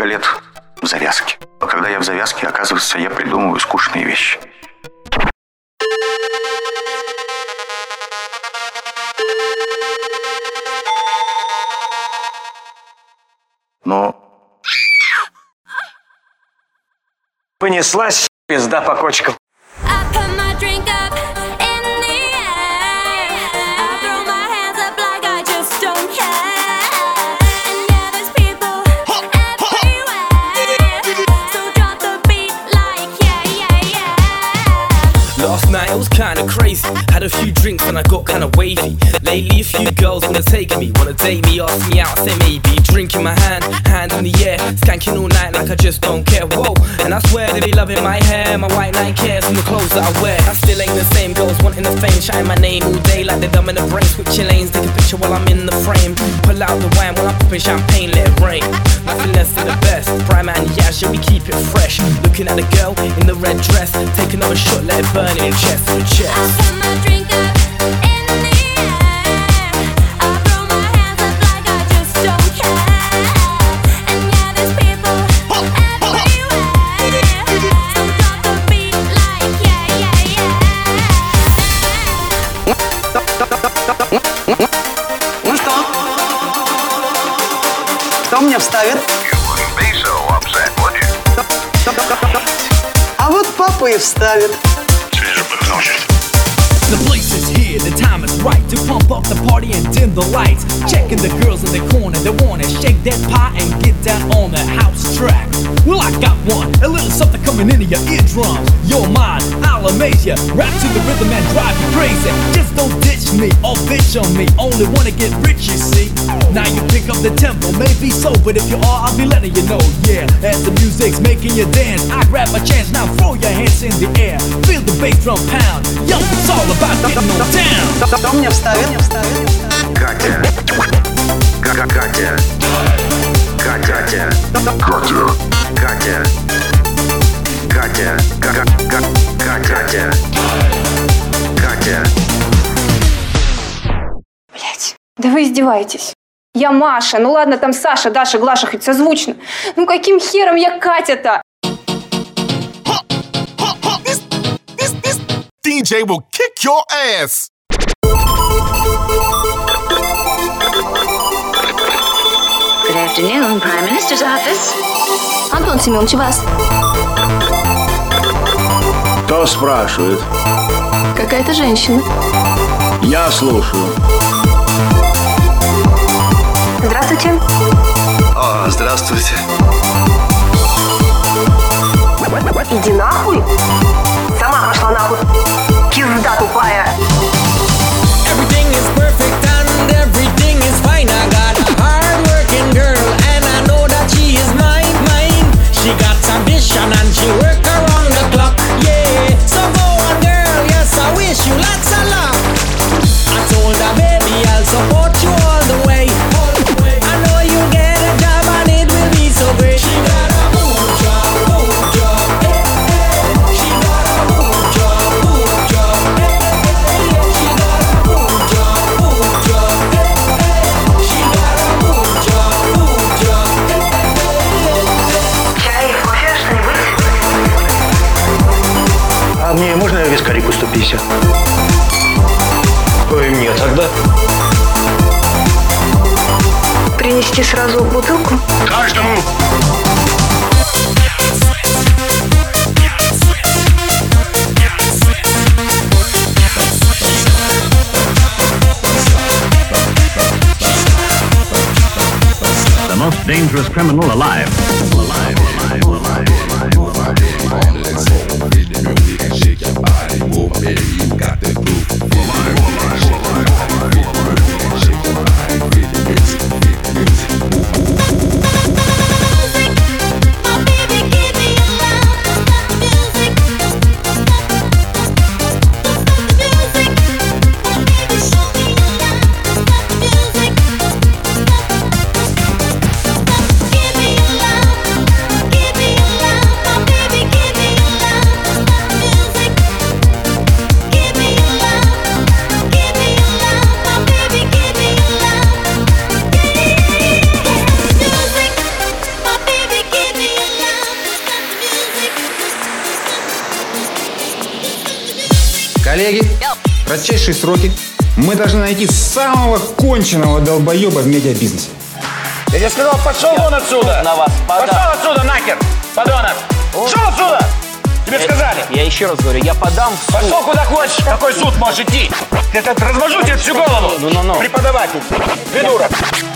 лет в завязке. А когда я в завязке, оказывается, я придумываю скучные вещи. Но понеслась пизда по кочкам. Last night it was kinda crazy. Had a few drinks and I got kinda wavy. Lately a few girls wanna take me, wanna date me, ask me out, say maybe. Drink in my hand in the air, skanking all night like I just don't care. Whoa, and I swear they be loving my hair, my white Nike and the clothes that I wear. I still ain't the same, girls wanting the fame, shouting my name all day like they're dumb in the brain. Switching lanes, take a picture while I'm in the frame. Pull out the wine while I'm popping champagne, let it rain. Nothing less than the best. Prime and yeah, shall we keep it fresh? Looking at the girl in the red dress, take another shot, let it burn in chest to chest. I put my drink up in the air. I throw my hands up like I just don't care. And yeah, there's people everywhere. So drop the beat like yeah, yeah, yeah. Ну что? Кто мне вставит? А вот папа и вставит. The place is here, the time is right to pump up the party and dim the lights. Checking the girls in the corner, they wanna shake that pie and get down on the house track. Well, I got one, a little something coming into your eardrums. You're mine, I'll amaze ya. Rap to the rhythm and drive you crazy. Just don't ditch me or bitch on me. Only wanna get rich, you see. Now you pick up the tempo, maybe so, but if you are, I'll be letting you know. Yeah, as the music's making you dance, I grab my chance, now throw your hands in the air. Feel the bass drum pound. Yo, it's all about getting on down. Кто мне вставит? Катя. Катя. Катя. Катя. Катя. Катя. Катя. Катя. Блять, да вы издеваетесь. Я Маша, ну ладно, там Саша, Даша, Глаша, хоть созвучно. Ну каким хером я Катя-то? DJ will kick your ass. Good afternoon, Prime Minister's office. Антон Семенович, вас. Кто спрашивает? Какая-то женщина. Я слушаю. Здравствуйте. Здравствуйте. Иди нахуй. Сама пошла нахуй. Кизда тупая. Everything is perfect and everything is fine. I got a hard-working girl and I know that she is mine. She got ambition and she work around the clock. Yeah, so go on, girl. Yes, I wish you lots of luck. I told her, baby, I'll support you all the way. I know you'll get a job and it will be so great. She got a good job, hey, hey. She got a good job, hey, hey. She got a good job, hey, hey. She got a good job, hey, hey. Чай, кофе, что-нибудь? А мне можно вискарику 150? Ой, мне тогда. Принести сразу бутылку? Каждому. The most dangerous criminal alive. Коллеги, в кратчайшие сроки мы должны найти самого конченого долбоеба в медиабизнесе. Я тебе сказал, пошел вон отсюда! На вас пошел отсюда, нахер, подонок! Пошел отсюда! Тебе сказали! Я еще раз говорю, я подам в суд. Пошел куда хочешь, какой суд можешь идти! Я размажу тебе всю голову! Ну. Преподаватель! Придурок!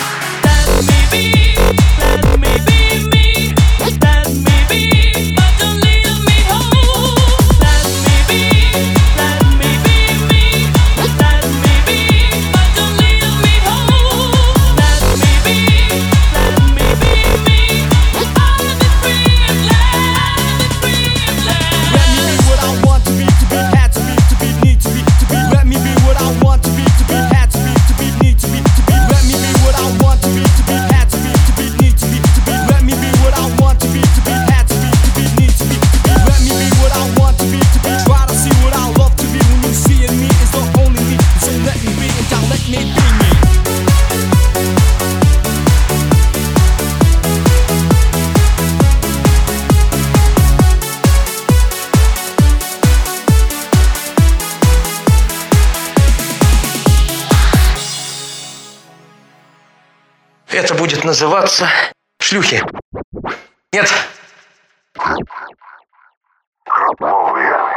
Это будет называться шлюхи. Нет. Кровавые.